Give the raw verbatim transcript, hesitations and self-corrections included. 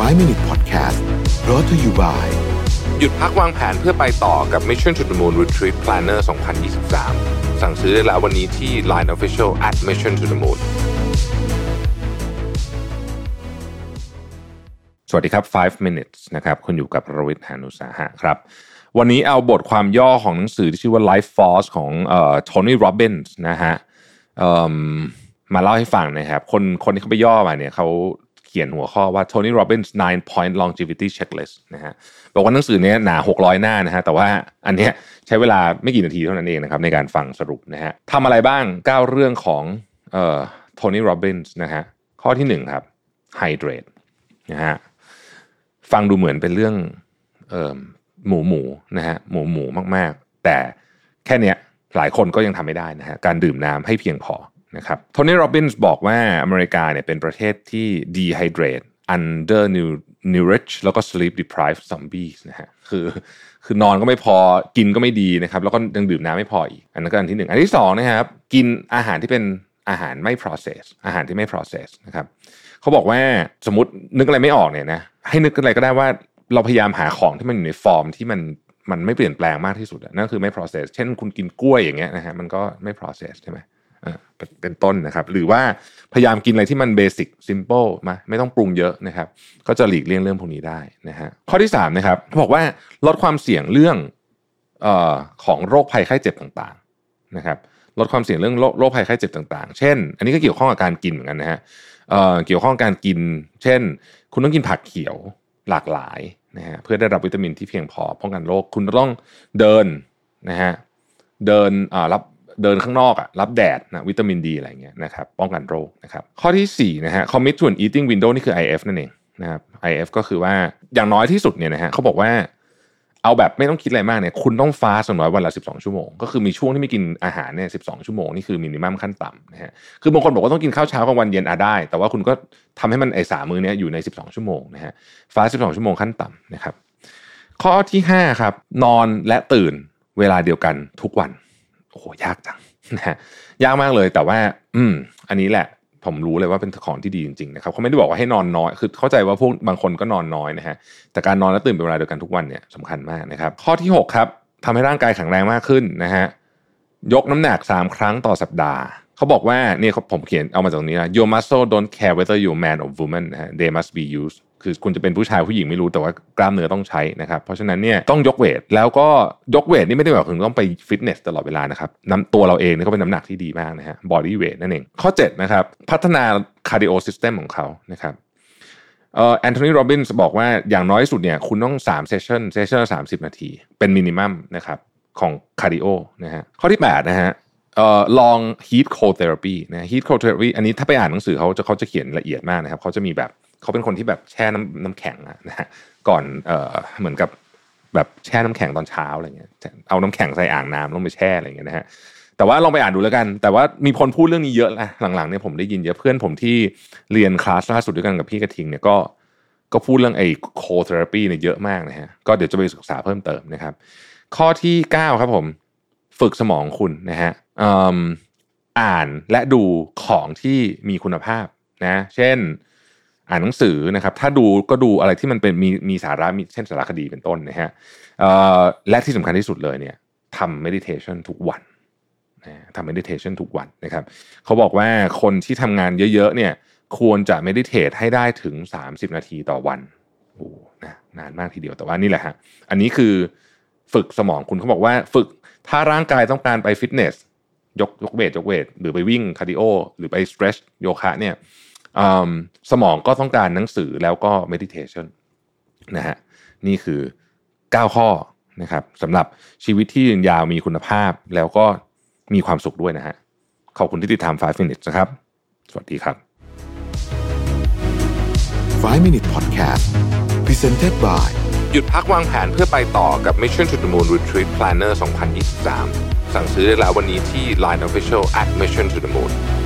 ไฟว์ minute podcast brought to you by หยุดพักวางแผนเพื่อไปต่อกับ Mission to the Moon Retreat Planner สองพันยี่สิบสาม สั่งซื้อได้แล้ววันนี้ที่ ไลน์ Official แอท Mission to the Moon สวัสดีครับไฟว์ minutes นะครับคุณอยู่กับรวิทย์ หาญอุตสาหะครับวันนี้เอาบทความย่อของหนังสือที่ชื่อว่า Life Force ของเอ่อ Tony Robbins นะฮะเอ่อมาเล่าให้ฟังนะครับคนคนที่เขาไปย่อมาเนี่ยเขาเขียนหัวข้อว่า Tony Robbins nine point longevity checklist นะฮะบอกว่าหนังสือนี้หนาหกร้อยหน้านะฮะแต่ว่าอันเนี้ยใช้เวลาไม่กี่นาทีเท่านั้นเองนะครับในการฟังสรุปนะฮะทำอะไรบ้างเก้าเรื่องของเอ่อ Tony Robbins นะฮะข้อที่หนึ่งครับ hydrate นะฮะฟังดูเหมือนเป็นเรื่องเอ่อหมูหมูนะฮะหมูหมูมากๆแต่แค่เนี้ยหลายคนก็ยังทำไม่ได้นะฮะการดื่มน้ำให้เพียงพอนะครับโทนี่โรบินส์บอกว่าอเมริกาเนี่ยเป็นประเทศที่ dehydrate under nourish แล้วก็ sleep deprived zombies นะฮะคือคือนอนก็ไม่พอกินก็ไม่ดีนะครับแล้วก็ยังดื่มน้ำไม่พออีกอันนั้นก็อันที่หนึ่งอันที่สองนะครับกินอาหารที่เป็นอาหารไม่ process อาหารที่ไม่ process นะครับเขาบอกว่าสมมตินึกอะไรไม่ออกเนี่ยนะให้นึกอะไรก็ได้ว่าเราพยายามหาของที่มันอยู่ในฟอร์มที่มันมันไม่เปลี่ยนแปลงมากที่สุดนั่นคือไม่ process เช่นคุณกินกล้วยอย่างเงี้ยนะฮะมันก็ไม่ process ใช่ไหมเป็นต้นนะครับหรือว่าพยายามกินอะไรที่มันเบสิกซิมเปิลมาไม่ต้องปรุงเยอะนะครับก็จะหลีกเลี่ยงเรื่องพวกนี้ได้นะฮะข้อที่สามนะครับเขาบอกว่าลดความเสี่ยงเรื่องเอ่อของโรคภัยไข้เจ็บต่างๆนะครับลดความเสี่ยงเรื่องโรคภัยไข้เจ็บต่างๆเช่นอันนี้ก็เกี่ยวข้องกับการกินเหมือนกันนะฮะเอ่อเกี่ยวข้องกับการกินเช่นคุณต้องกินผักเขียวหลากหลายนะฮะเพื่อได้รับวิตามินที่เพียงพอป้องกันโรคคุณต้องเดินนะฮะเดินอ่ารับเดินข้างนอกอ่ะรับแดดนะวิตามินดีอะไรเงี้ยนะครับป้องกันโรคนะครับข้อที่สี่นะฮะ commit to an eating window นี่คือ ไอ เอฟ นั่นเองนะครับ ไอ เอฟ ก็คือว่าอย่างน้อยที่สุดเนี่ยนะฮะเขาบอกว่าเอาแบบไม่ต้องคิดอะไรมากเนี่ยคุณต้องฟาสต์อย่างน้อยวันละสิบสองชั่วโมงก็คือมีช่วงที่ไม่กินอาหารเนี่ยสิบสองชั่วโมงนี่คือมินิมัมขั้นต่ำนะฮะคือบางคนบอกว่าต้องกินข้าวเช้ากลางวันเย็นอ่ะได้แต่ว่าคุณก็ทำให้มันไอ้สามมื้อนี้อยู่ในสิบสองชั่วโมงนะฮะฟาสต์สิบสองชั่วโมงขั้นต่ำนะครับข้อที่ห้าครับนอนและตื่นเวลาเดียวกันทุกวันโอ้โหยากจังนะฮะยากมากเลยแต่ว่าอืมอันนี้แหละผมรู้เลยว่าเป็นของที่ดีจริงๆนะครับเขาไม่ได้บอกว่าให้นอนน้อยคือเข้าใจว่าพวกบางคนก็นอนน้อยนะฮะแต่การนอนและตื่นเป็นเวลาเดียวกันทุกวันเนี่ยสำคัญมากนะครับข้อที่หกครับทำให้ร่างกายแข็งแรงมากขึ้นนะฮะยกน้ำหนักสามครั้งต่อสัปดาห์เขาบอกว่านี่ผมเขียนเอามาจากตรงนี้นะ your muscle don't care whether you're man or woman นะฮะ they must be usedคือคุณจะเป็นผู้ชายผู้หญิงไม่รู้แต่ว่ากล้ามเนื้อต้องใช้นะครับเพราะฉะนั้นเนี่ยต้องยกเวทแล้วก็ยกเวทนี่ไม่ได้แบบถึงต้องไปฟิตเนสตลอดเวลานะครับน้ำตัวเราเองนี่ก็เป็นน้ำหนักที่ดีมากนะฮะ body weight นั่นเองข้อเจ็ดนะครับพัฒนา cardio system ของเขานะครับเอ่อแอนโทนีโรบินส์บอกว่าอย่างน้อยสุดเนี่ยคุณต้องสามเซสชั่นเซสชั่นละสามสิบนาทีเป็นมินิมัมนะครับของ cardio นะฮะข้อที่แปดนะฮะเอ่อลอง heat cold therapy นะ heat cold therapy อันนี้ถ้าไปอ่านหนังสือเขาจะเขาจะเขียนละเอียดมากนะครับเขาจะมีแบบเขาเป็นคนที่แบบแช่น้ำน้ำแข็งนะฮะก่อนเอ่อเหมือนกับแบบแช่น้ำแข็งตอนเช้าอะไรเงี้ยเอาน้ำแข็งใส่อ่างน้ำลงไปแช่อะไรเงี้ยนะฮะแต่ว่าลองไปอ่านดูแล้วกันแต่ว่ามีคนพูดเรื่องนี้เยอะนะหลังๆเนี่ยผมได้ยินเยอะเพื่อนผมที่เรียนคลาสล่าสุดด้วยกันกับพี่กระทิงเนี่ยก็ก็พูดเรื่องไอ้ cold therapy เนี่ยเยอะมากนะฮะก็เดี๋ยวจะไปศึกษาเพิ่มเติมนะครับข้อที่เก้าครับผมฝึกสมองคุณนะฮะอ่านและดูของที่มีคุณภาพนะเช่นอ่านหนังสือนะครับถ้าดูก็ดูอะไรที่มันเป็นมีมีสาระมีเช่นสารคดีเป็นต้นนะฮะและที่สำคัญที่สุดเลยเนี่ยทำ meditation ทุกวันนะทำ meditation ทุกวันนะครับเขาบอกว่าคนที่ทำงานเยอะๆเนี่ยควรจะ meditate ให้ได้ถึงสามสิบนาทีต่อวันโอ้นะนานมากทีเดียวแต่ว่านี่แหละฮะอันนี้คือฝึกสมองคุณเขาบอกว่าฝึกถ้าร่างกายต้องการไปฟิตเนสยกยกเวทยกเวทหรือไปวิ่งคาร์ดิโอหรือไป stretch โยคะเนี่ยสมองก็ต้องการหนังสือแล้วก็ meditation นะฮะนี่คือเก้าข้อนะครับสำหรับชีวิตที่ยืนยาวมีคุณภาพแล้วก็มีความสุขด้วยนะฮะขอบคุณที่ติดตามไฟว์ minutes นะครับสวัสดีครับไฟว์ minute podcast presented by หยุดพักวางแผนเพื่อไปต่อกับ Mission to the Moon Retreat Planner สองพันยี่สิบสามสั่งซื้อได้แล้ววันนี้ที่ ไลน์ Official แอท Mission to the Moon